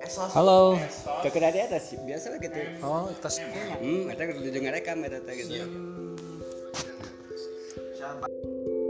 Halo. Ke dari atas biasa lah gitu. Oh, tas. Eta kudu dengar rekam eta teh gitu.